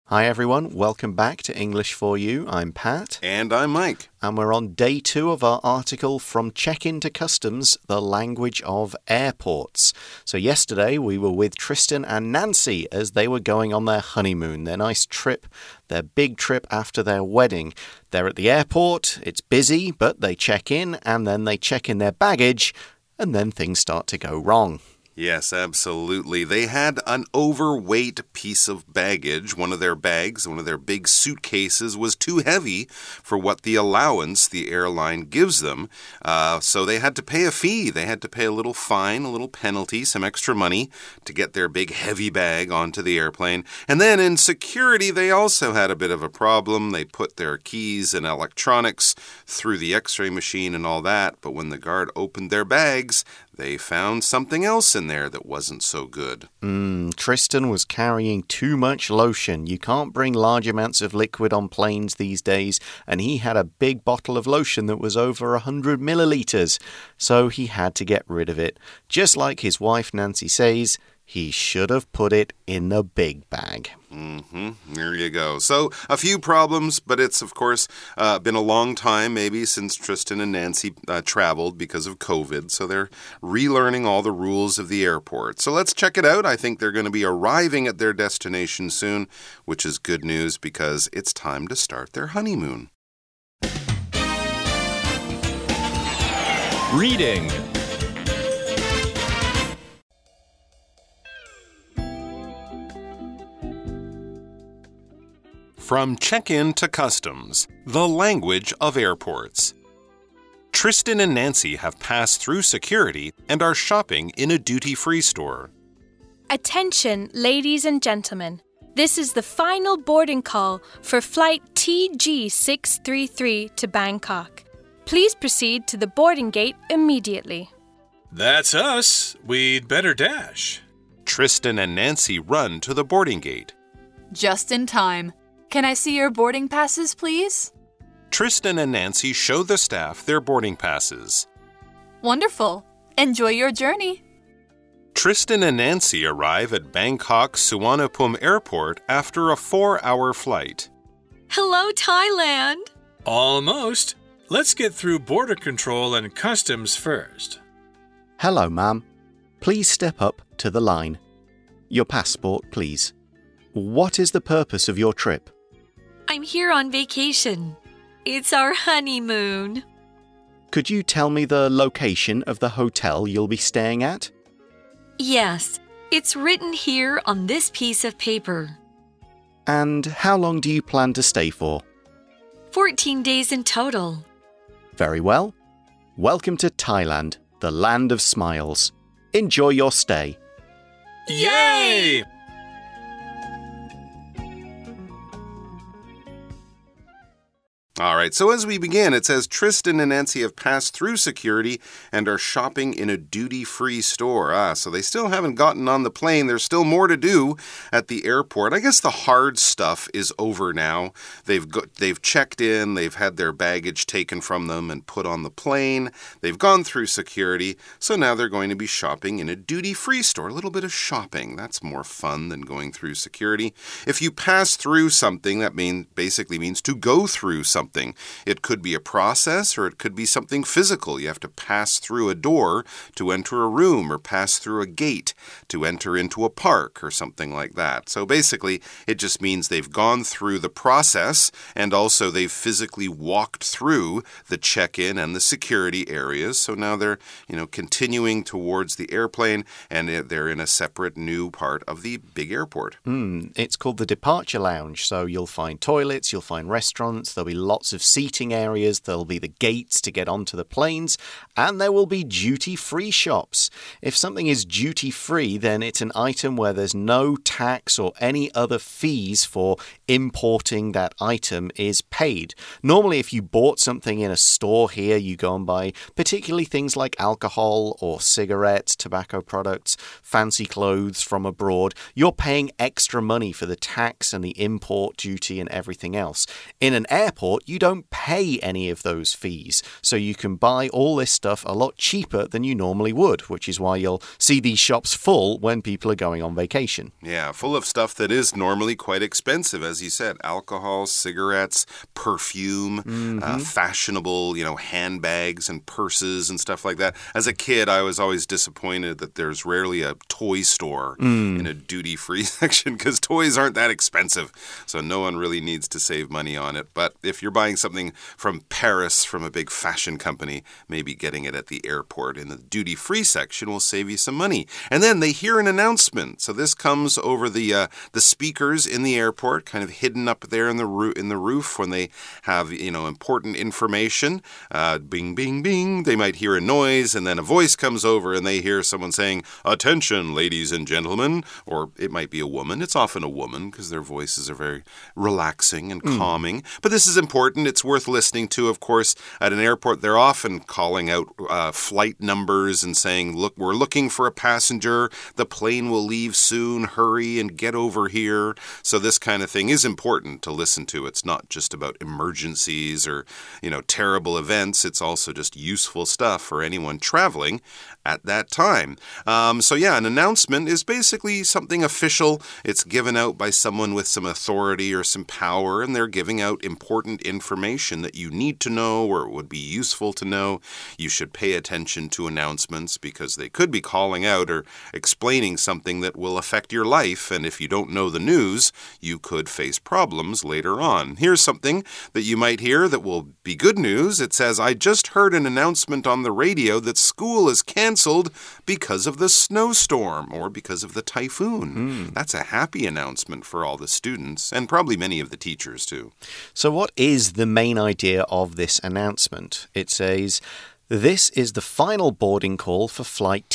Hi everyone, welcome back to English for You. I'm Pat. And I'm Mike. And we're on day 2 of our article From Check-in to Customs, the Language of Airports. So yesterday we were with Tristan and Nancy as they were going on their honeymoon, their nice trip, their big trip after their wedding. They're at the airport, it's busy, but they check in and then they check in their baggage and then things start to go wrong. Yes, absolutely. They had an overweight piece of baggage. One of their bags, one of their big suitcases was too heavy for what the allowance the airline gives them. So they had to pay a fee. They had to pay a little fine, a little penalty, some extra money to get their big heavy bag onto the airplane. And then in security, they also had a bit of a problem. They put their keys and electronics through the x-ray machine and all that. But when the guard opened their bags, they found something else in there that wasn't so good. Tristan was carrying too much lotion. You can't bring large amounts of liquid on planes these days, and he had a big bottle of lotion that was over 100 milliliters, so he had to get rid of it. Just like his wife Nancy says, he should have put it in the big bag. There you go. So, a few problems, but it's, of course, been a long time maybe since Tristan and Nancy traveled because of COVID. So, they're relearning all the rules of the airport. So, let's check it out. I think they're going to be arriving at their destination soon, which is good news because it's time to start their honeymoon. Reading. From Check-in to Customs, the Language of Airports. Tristan and Nancy have passed through security and are shopping in a duty-free store. Attention, ladies and gentlemen. This is the final boarding call for flight TG633 to Bangkok. Please proceed to the boarding gate immediately. That's us. We'd better dash. Tristan and Nancy run to the boarding gate. Just in time. Can I see your boarding passes, please? Tristan and Nancy show the staff their boarding passes. Wonderful. Enjoy your journey. Tristan and Nancy arrive at Bangkok Suvarnabhumi Airport after a 4-hour flight. Hello, Thailand. Almost. Let's get through border control and customs first. Hello, ma'am. Please step up to the line. Your passport, please. What is the purpose of your trip? I'm here on vacation. It's our honeymoon. Could you tell me the location of the hotel you'll be staying at? Yes, it's written here on this piece of paper. And how long do you plan to stay for? 14 days in total. Very well. Welcome to Thailand, the land of smiles. Enjoy your stay. Yay! All right, so as we begin, it says Tristan and Nancy have passed through security and are shopping in a duty-free store. So they still haven't gotten on the plane. There's still more to do at the airport. I guess the hard stuff is over now. They've checked in, they've had their baggage taken from them and put on the plane. They've gone through security, so now they're going to be shopping in a duty-free store. A little bit of shopping. That's more fun than going through security. If you pass through something, that basically means to go through something. It could be a process or it could be something physical. You have to pass through a door to enter a room or pass through a gate to enter into a park or something like that. So basically, it just means they've gone through the process and also they've physically walked through the check-in and the security areas. So now they're, continuing towards the airplane and they're in a separate new part of the big airport. It's called the departure lounge. So you'll find toilets, you'll find restaurants, there'll be lots of seating areas, there'll be the gates to get onto the planes, and there will be duty-free shops. If something is duty-free, then it's an item where there's no tax or any other fees for importing that item is paid. Normally, if you bought something in a store here, you go and buy particularly things like alcohol or cigarettes, tobacco products, fancy clothes from abroad. You're paying extra money for the tax and the import duty and everything else. In an airport, airport, you don't pay any of those fees. So you can buy all this stuff a lot cheaper than you normally would, which is why you'll see these shops full when people are going on vacation. Yeah, full of stuff that is normally quite expensive, as you said. Alcohol, cigarettes, perfume, fashionable, handbags and purses and stuff like that. As a kid, I was always disappointed that there's rarely a toy store in a duty-free section because toys aren't that expensive. So no one really needs to save money on it. But if you're buying something from Paris from a big fashion company, maybe getting it at the airport in the duty-free section will save you some money. And then they hear an announcement. So this comes over the speakers in the airport, kind of hidden up there in the roof when they have important information. Bing, bing, bing. They might hear a noise, and then a voice comes over, and they hear someone saying, "Attention, ladies and gentlemen," or it might be a woman. It's often a woman because their voices are very relaxing and calming. But this is important. It's worth listening to, of course. At an airport, they're often calling out flight numbers and saying, "Look, we're looking for a passenger. The plane will leave soon. Hurry and get over here." So this kind of thing is important to listen to. It's not just about emergencies or, terrible events. It's also just useful stuff for anyone traveling at that time. An announcement is basically something official. It's given out by someone with some authority or some power, and they're giving out important information that you need to know or it would be useful to know. You should pay attention to announcements because they could be calling out or explaining something that will affect your life, and if you don't know the news, you could face problems later on. Here's something that you might hear that will be good news. It says, "I just heard an announcement on the radio that school is canceled because of the snowstorm or because of the typhoon." That's a happy announcement for all the students and probably many of the teachers too. So what is the main idea of this announcement? It says, "This is the final boarding call for flight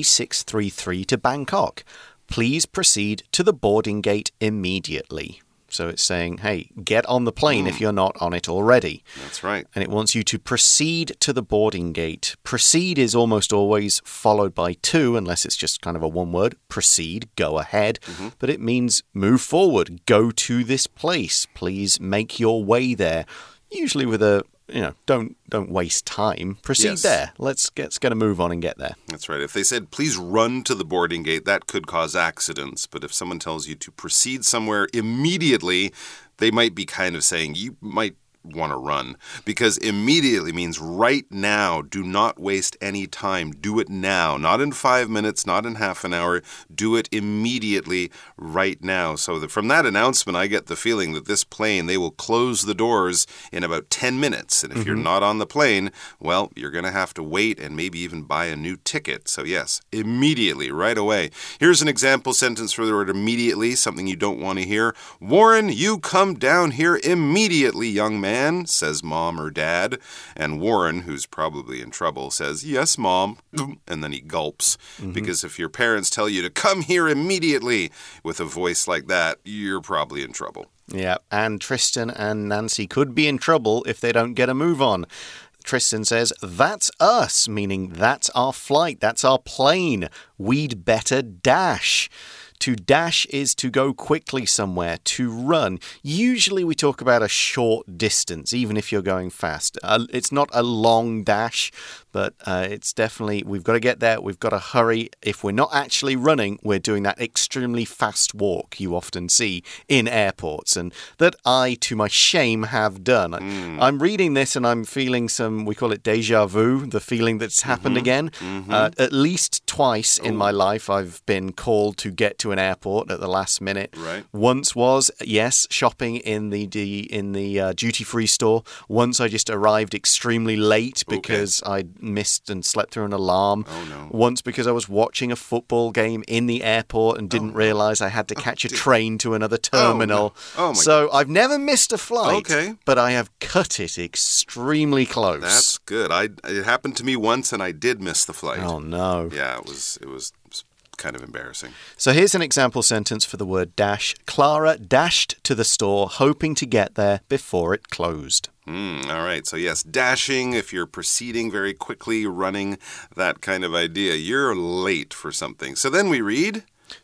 TG633 to Bangkok. Please proceed to the boarding gate immediately." So it's saying, hey, get on the plane if you're not on it already. That's right. And it wants you to proceed to the boarding gate. Proceed is almost always followed by to, unless it's just kind of a one word. Proceed, go ahead. But it means move forward, go to this place. Please make your way there. Usually with a, don't waste time. Proceed there. Let's get a move on and get there. That's right. If they said, please run to the boarding gate, that could cause accidents. But if someone tells you to proceed somewhere immediately, they might be kind of saying you might want to run, because immediately means right now. Do not waste any time. Do it now. Not in 5 minutes, not in half an hour. Do it immediately right now. So from that announcement, I get the feeling that this plane, they will close the doors in about 10 minutes. And if you're not on the plane, well, you're going to have to wait and maybe even buy a new ticket. So yes, immediately, right away. Here's an example sentence for the word immediately, something you don't want to hear. "Warren, you come down here immediately, young man," says mom or dad. And Warren, who's probably in trouble, says, "Yes, mom." And then he gulps. Because if your parents tell you to come here immediately with a voice like that, you're probably in trouble. Yeah, and Tristan and Nancy could be in trouble if they don't get a move on. Tristan says, "That's us," meaning that's our flight, that's our plane. We'd better dash. To dash is to go quickly somewhere, to run. Usually we talk about a short distance, even if you're going fast. It's not a long dash, but it's definitely, we've got to get there, we've got to hurry. If we're not actually running, we're doing that extremely fast walk you often see in airports, and that I, to my shame, have done. I'm reading this and I'm feeling some, we call it déjà vu, the feeling that's happened again. At least twice in my life I've been called to get to an airport at the last minute. Right. Once was, yes, shopping in the duty-free store. Once I just arrived extremely late because I missed and slept through an alarm. Oh, no. Once because I was watching a football game in the airport and didn't realize I had to catch a train to another terminal. Oh, my so I've never missed a flight, Okay. but I have cut it extremely close. That's good. It happened to me once and I did miss the flight. Oh, no. Yeah, it was kind of embarrassing. So here's an example sentence for the word dash. Clara dashed to the store, hoping to get there before it closed. All right. So yes, dashing, if you're proceeding very quickly, running, that kind of idea. You're late for something. So then we read...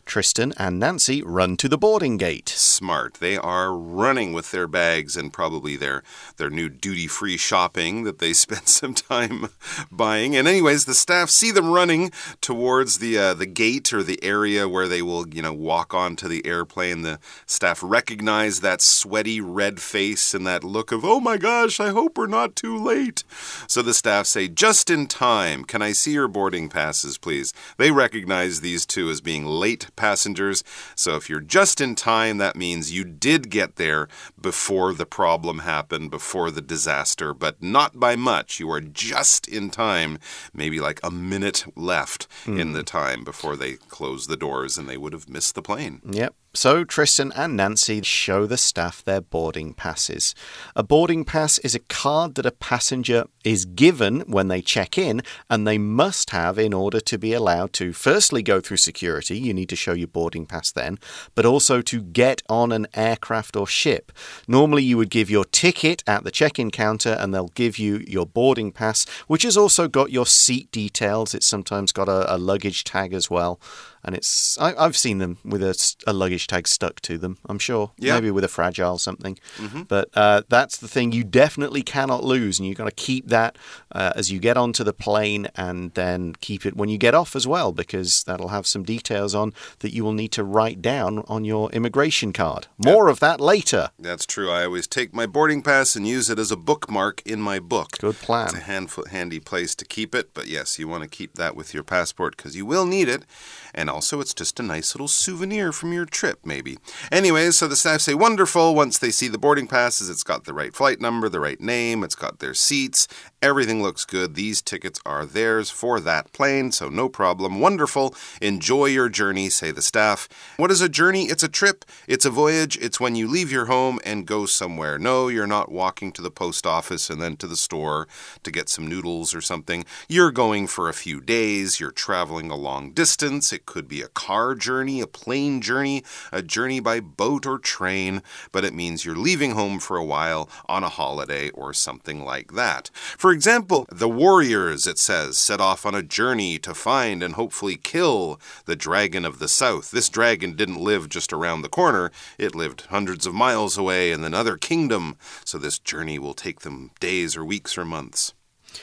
Tristan and Nancy run to the boarding gate. Smart. They are running with their bags and probably their new duty-free shopping that they spent some time buying. And anyways, the staff see them running towards the gate or the area where they will, walk onto the airplane. The staff recognize that sweaty red face and that look of, oh my gosh, I hope we're not too late. So the staff say, just in time, can I see your boarding passes, please? They recognize these two as being late passengers. So if you're just in time, that means you did get there before the problem happened, before the disaster, but not by much. You are just in time, maybe like a minute left in the time before they close the doors and they would have missed the plane. Yep. So Tristan and Nancy show the staff their boarding passes. A boarding pass is a card that a passenger is given when they check in, and they must have in order to be allowed to firstly go through security. You need to show your boarding pass then, but also to get on an aircraft or ship. Normally you would give your ticket at the check-in counter and they'll give you your boarding pass, which has also got your seat details. It's sometimes got a luggage tag as well. And I've seen them with a luggage tag stuck to them, I'm sure. Yeah. Maybe with a fragile something. But that's the thing you definitely cannot lose. And you've got to keep that as you get onto the plane, and then keep it when you get off as well, because that'll have some details on that you will need to write down on your immigration card. More of that later. That's true. I always take my boarding pass and use it as a bookmark in my book. Good plan. It's a handy place to keep it. But yes, you want to keep that with your passport because you will need it. And also, it's just a nice little souvenir from your trip, maybe. Anyways, so the staff say, wonderful. Once they see the boarding passes, it's got the right flight number, the right name, it's got their seats. Everything looks good. These tickets are theirs for that plane, so no problem. Wonderful. Enjoy your journey, say the staff. What is a journey? It's a trip. It's a voyage. It's when you leave your home and go somewhere. No, you're not walking to the post office and then to the store to get some noodles or something. You're going for a few days. You're traveling a long distance. It could be a car journey, a plane journey, a journey by boat or train, but it means you're leaving home for a while on a holiday or something like that. For example, the warriors, it says, set off on a journey to find and hopefully kill the dragon of the south. This dragon didn't live just around the corner. It lived hundreds of miles away in another kingdom, so this journey will take them days or weeks or months.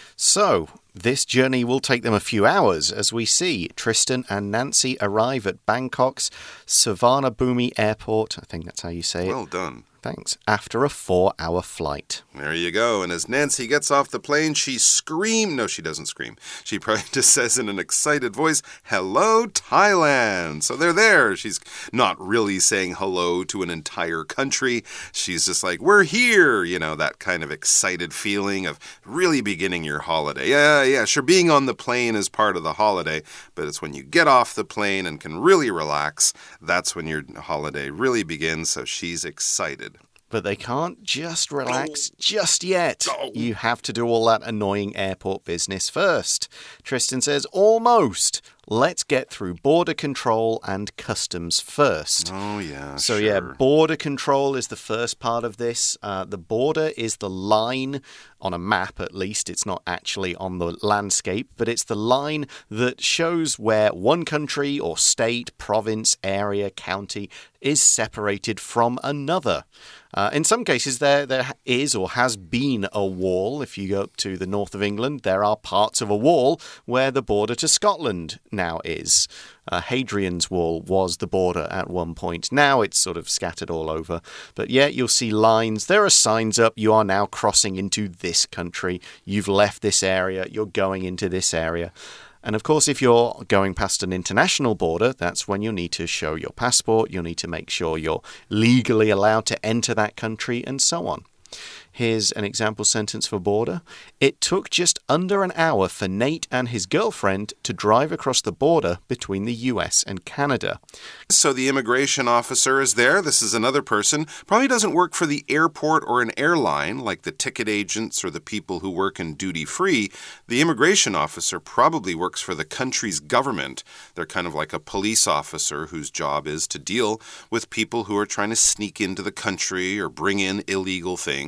So, this journey will take them a few hours as we see Tristan and Nancy arrive at Bangkok's Suvarnabhumi Airport. I think that's how you say it. Well done. Thanks. After a 4-hour flight. There you go. And as Nancy gets off the plane, she screams. No, she doesn't scream. She probably just says in an excited voice, hello, Thailand. So they're there. She's not really saying hello to an entire country. She's just like, we're here. You know, that kind of excited feeling of really beginning your holiday. Yeah, sure. Being on the plane is part of the holiday, but it's when you get off the plane and can really relax, that's when your holiday really begins. So she's excited. But they can't just relax just yet. You have to do all that annoying airport business first. Tristan says, almost. Let's get through border control and customs first. Oh, yeah, So, sure. yeah, border control is the first part of this. The border is the line on a map, at least. It's not actually on the landscape, but it's the line that shows where one country or state, province, area, county is separated from another. In some cases, there is or has been a wall. If you go up to the north of England, there are parts of a wall where the border to Scotland now is. Hadrian's Wall was the border at one point. Now it's sort of scattered all over. But yeah, you'll see lines. There are signs up. You are now crossing into this country. You've left this area. You're going into this area. And of course, if you're going past an international border, that's when you'll need to show your passport. You'll need to make sure you're legally allowed to enter that country and so on. Here's an example sentence for border. It took just under an hour for Nate and his girlfriend to drive across the border between the US and Canada. So the immigration officer is there. This is another person. Probably doesn't work for the airport or an airline like the ticket agents or the people who work in duty-free. The immigration officer probably works for the country's government. They're kind of like a police officer whose job is to deal with people who are trying to sneak into the country or bring in illegal things. So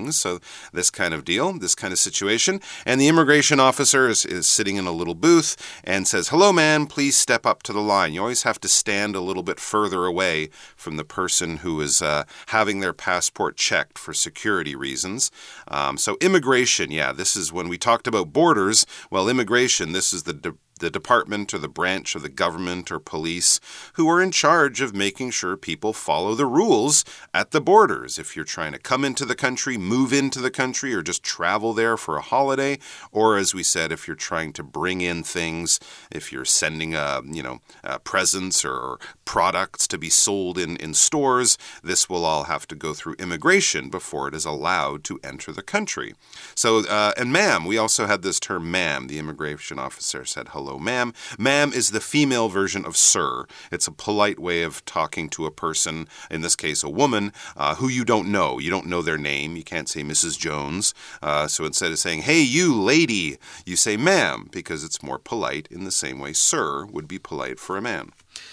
this kind of deal, this kind of situation. And the immigration officer is sitting in a little booth and says, "Hello, man, please step up to the line." You always have to stand a little bit further away from the person who is having their passport checked for security reasons. So immigration, yeah, this is when we talked about borders. Well, immigration, this is the department or the branch of the government or police who are in charge of making sure people follow the rules at the borders. If you're trying to come into the country, move into the country, or just travel there for a holiday, or as we said, if you're trying to bring in things, if you're sending presents or products to be sold in stores, this will all have to go through immigration before it is allowed to enter the country. So, and ma'am, we also had this term ma'am. The immigration officer said, "Hello, ma'am." Ma'am is the female version of sir. It's a polite way of talking to a person, in this case a woman, who you don't know. You don't know their name. You can't say Mrs. Jones. So instead of saying, "Hey, you lady," you say ma'am, because it's more polite in the same way sir would be polite for a man.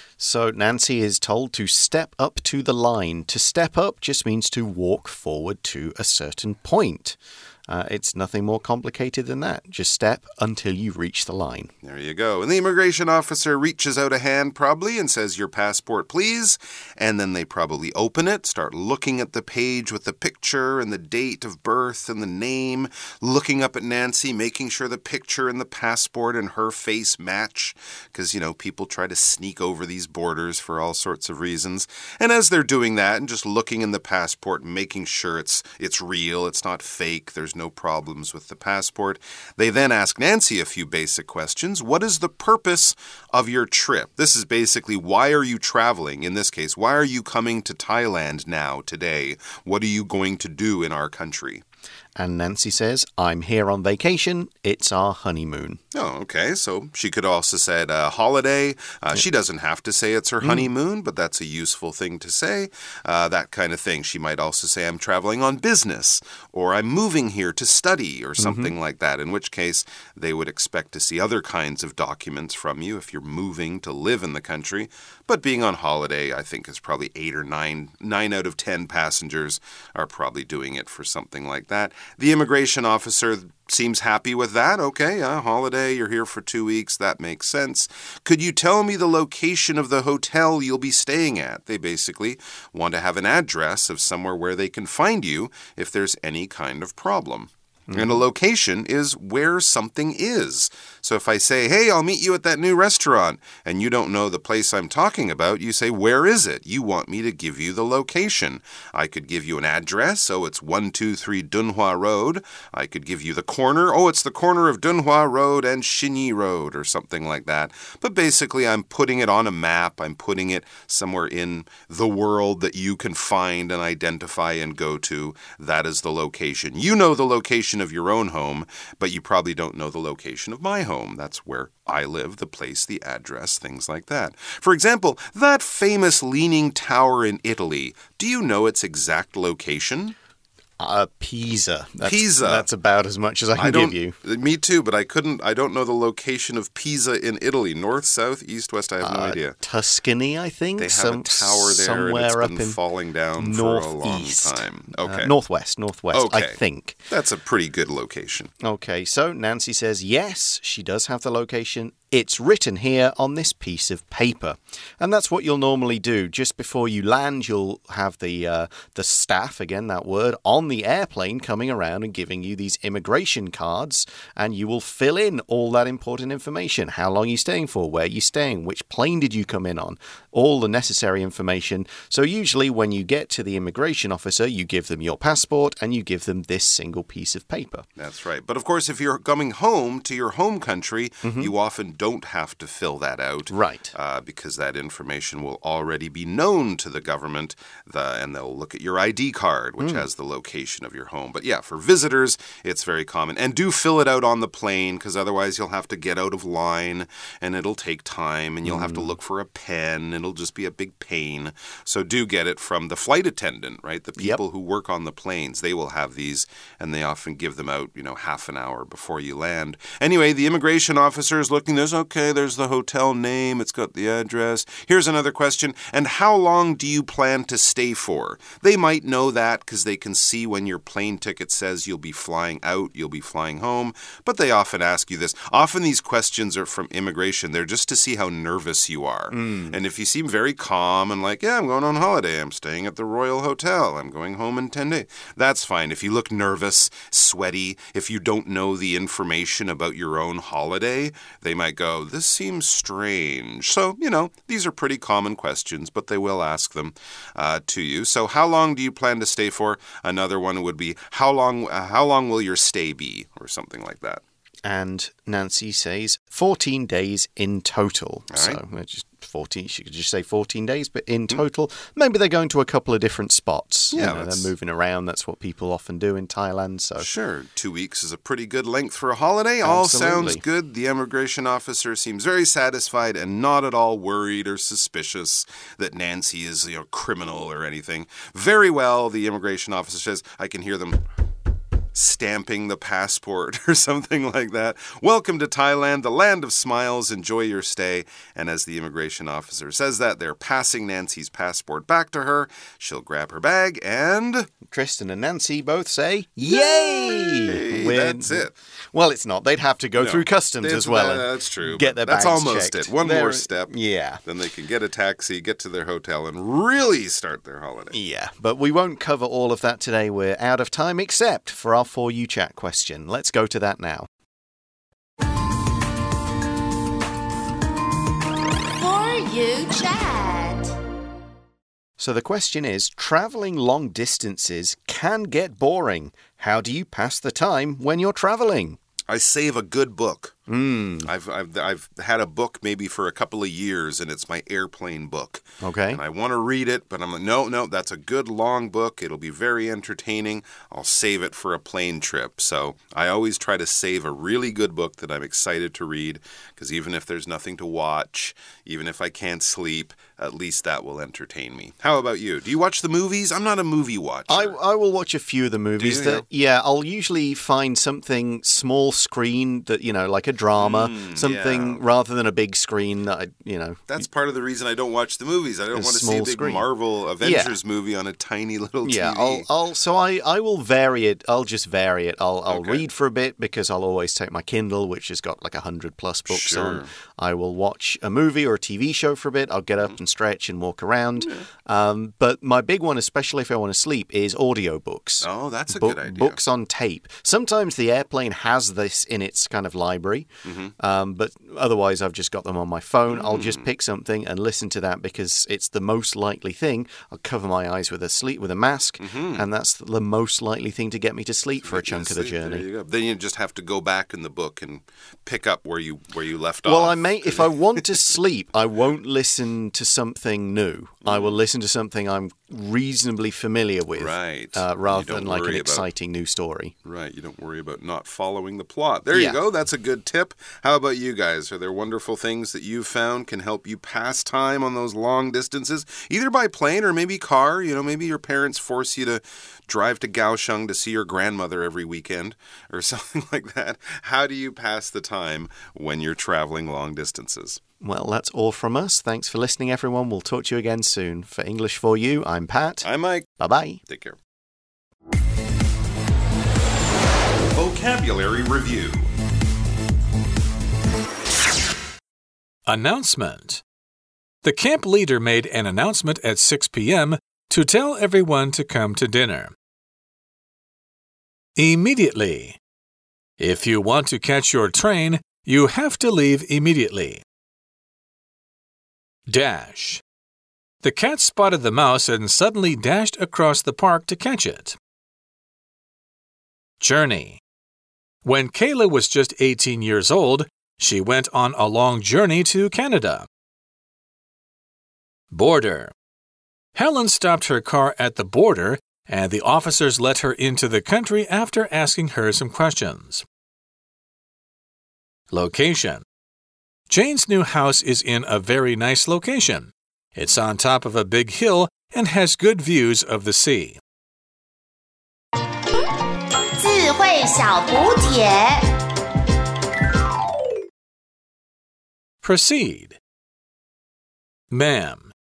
So Nancy is told to step up to the line. To step up just means to walk forward to a certain point. It's nothing more complicated than that. Just step until you reach the line. There you go. And the immigration officer reaches out a hand probably and says, "Your passport, please." And then they probably open it, start looking at the page with the picture and the date of birth and the name, looking up at Nancy, making sure the picture and the passport and her face match. Because, people try to sneak over these borders for all sorts of reasons. And as they're doing that and just looking in the passport and making sure it's real, it's not fake, there's no problems with the passport, they then ask Nancy a few basic questions. What is the purpose of your trip? This is basically, why are you traveling? In this case, why are you coming to Thailand now, today? What are you going to do in our country? And Nancy says, "I'm here on vacation. It's our honeymoon." Oh, okay. So she could also say holiday. She doesn't have to say it's her honeymoon, but that's a useful thing to say. That kind of thing. She might also say, "I'm traveling on business," or "I'm moving here to study," or something like that, in which case they would expect to see other kinds of documents from you if you're moving to live in the country. But being on holiday, I think, is probably 8 or 9 out of 10 passengers are probably doing it for something like that. The immigration officer seems happy with that. Okay, holiday, you're here for 2 weeks. That makes sense. Could you tell me the location of the hotel you'll be staying at? They basically want to have an address of somewhere where they can find you if there's any kind of problem. And a location is where something is. So if I say, "Hey, I'll meet you at that new restaurant," and you don't know the place I'm talking about, you say, "Where is it?" You want me to give you the location. I could give you an address. Oh, it's 123 Dunhua Road. I could give you the corner. Oh, it's the corner of Dunhua Road and Xinyi Road, or something like that. But basically, I'm putting it on a map. I'm putting it somewhere in the world that you can find and identify and go to. That is the location. You know the location of your own home, but you probably don't know the location of my home. That's where I live, the place, the address, things like that. For example, that famous Leaning Tower in Italy, do you know its exact location? Pisa. Pisa. That's about as much as I can give you. Me too, but I don't know the location of Pisa in Italy. North, south, east, west, I have no idea. Tuscany, I think. They have a tower there and it's been falling down for a long time. Okay. Northwest, okay. I think. That's a pretty good location. Okay, so Nancy says yes, she does have the location. It's written here on this piece of paper. And that's what you'll normally do. Just before you land, you'll have the staff, again, that word, on the airplane coming around and giving you these immigration cards. And you will fill in all that important information. How long are you staying for? Where are you staying? Which plane did you come in on? All the necessary information. So usually when you get to the immigration officer, you give them your passport and you give them this single piece of paper. That's right. But of course, if you're coming home to your home country, you often don't have to fill that out. Right. Because that information will already be known to the government, and they'll look at your ID card, which has the location of your home. But yeah, for visitors, it's very common. And do fill it out on the plane, because otherwise you'll have to get out of line, and it'll take time, and you'll have to look for a pen. It'll just be a big pain. So do get it from the flight attendant, right? The people who work on the planes, they will have these, and they often give them out, half an hour before you land. Anyway, the immigration officer is looking. Okay, there's the hotel name. It's got the address. Here's another question. And how long do you plan to stay for? They might know that because they can see see when your plane ticket says you'll be flying out, you'll be flying home, but they often ask you this. Often these questions are from immigration. They're just to see how nervous you are. And if you seem very calm and like, yeah, I'm going on holiday, I'm staying at the Royal Hotel, I'm going home in 10 days, that's fine. If you look nervous, sweaty, if you don't know the information about your own holiday, they might go, this seems strange. So, these are pretty common questions, but they will ask them to you. So how long do you plan to stay for? Another one would be, how long will your stay be? Or something like that. And Nancy says 14 days in total. Right. So just 14. She could just say 14 days, but in total, maybe they're going to a couple of different spots. Yeah, they're moving around. That's what people often do in Thailand. So sure, 2 weeks is a pretty good length for a holiday. Absolutely. All sounds good. The immigration officer seems very satisfied and not at all worried or suspicious that Nancy is a criminal or anything. Very well, the immigration officer says, I can hear them stamping the passport or something like that. Welcome to Thailand, the land of smiles. Enjoy your stay. And as the immigration officer says that, they're passing Nancy's passport back to her. She'll grab her bag and... Tristan and Nancy both say, Yay! That's it. Well, it's not. They'd have to go through customs as well. That's true. Get their bags That's almost checked. it. One more step. Yeah. Then they can get a taxi, get to their hotel, and really start their holiday. Yeah, but we won't cover all of that today. We're out of time, except for our For You Chat question. Let's go to that now. For You Chat. So the question is, traveling long distances can get boring. How do you pass the time when you're traveling? I save a good book. I've had a book maybe for a couple of years, and it's my airplane book. Okay. And I want to read it, but I'm like, no, that's a good long book. It'll be very entertaining. I'll save it for a plane trip. So I always try to save a really good book that I'm excited to read, because even if there's nothing to watch, even if I can't sleep, at least that will entertain me. How about you? Do you watch the movies? I'm not a movie watcher. I will watch a few of the movies. Do you? Yeah, I'll usually find something small screen that, like a drama, something rather than a big screen that That's part of the reason I don't watch the movies. I don't want to see a big screen. Marvel Avengers movie on a tiny little TV. Yeah, I will vary it. I'll just vary it. I'll read for a bit because I'll always take my Kindle, which has got like 100+ books on. I will watch a movie or a TV show for a bit. I'll get up and stretch and walk around. But my big one, especially if I want to sleep, is audiobooks. Oh, that's a good idea. Books on tape. Sometimes the airplane has this in its kind of library, but otherwise I've just got them on my phone. I'll just pick something and listen to that because it's the most likely thing. I'll cover my eyes with a mask, and that's the most likely thing to get me to sleep for a chunk of the journey. There you go. Then you just have to go back in the book and pick up where you left off. Well, if I want to sleep, I won't listen to something new. I will listen to something I'm reasonably familiar with, rather than like an exciting new story. Right, you don't worry about not following the plot. There you go, that's a good tip. How about you guys? Are there wonderful things that you've found can help you pass time on those long distances, either by plane or maybe car? Maybe your parents force you to drive to Kaohsiung to see your grandmother every weekend or something like that. How do you pass the time when you're traveling long distances? Well, that's all from us. Thanks for listening, everyone. We'll talk to you again soon. For English for You, I'm Pat. I'm Mike. Bye-bye. Take care. Vocabulary Review. Announcement. The camp leader made an announcement at 6 p.m. to tell everyone to come to dinner. Immediately. If you want to catch your train, you have to leave immediately. Dash. The cat spotted the mouse and suddenly dashed across the park to catch it. Journey. When Kayla was just 18 years old, she went on a long journey to Canada. Border. Helen stopped her car at the border, and the officers let her into the country after asking her some questions. Location. Jane's new house is in a very nice location. It's on top of a big hill and has good views of the sea. 智慧小补帖 Proceed. Ma'am,